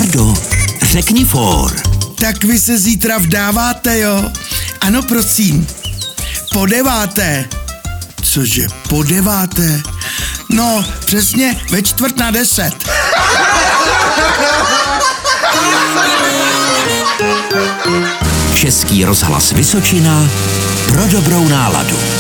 Frejdo, řekni for. Tak vy se zítra vdáváte, jo? Ano, prosím. Po 9. Cože, po 9? No, přesně ve 9:45. Český rozhlas Vysočina pro dobrou náladu.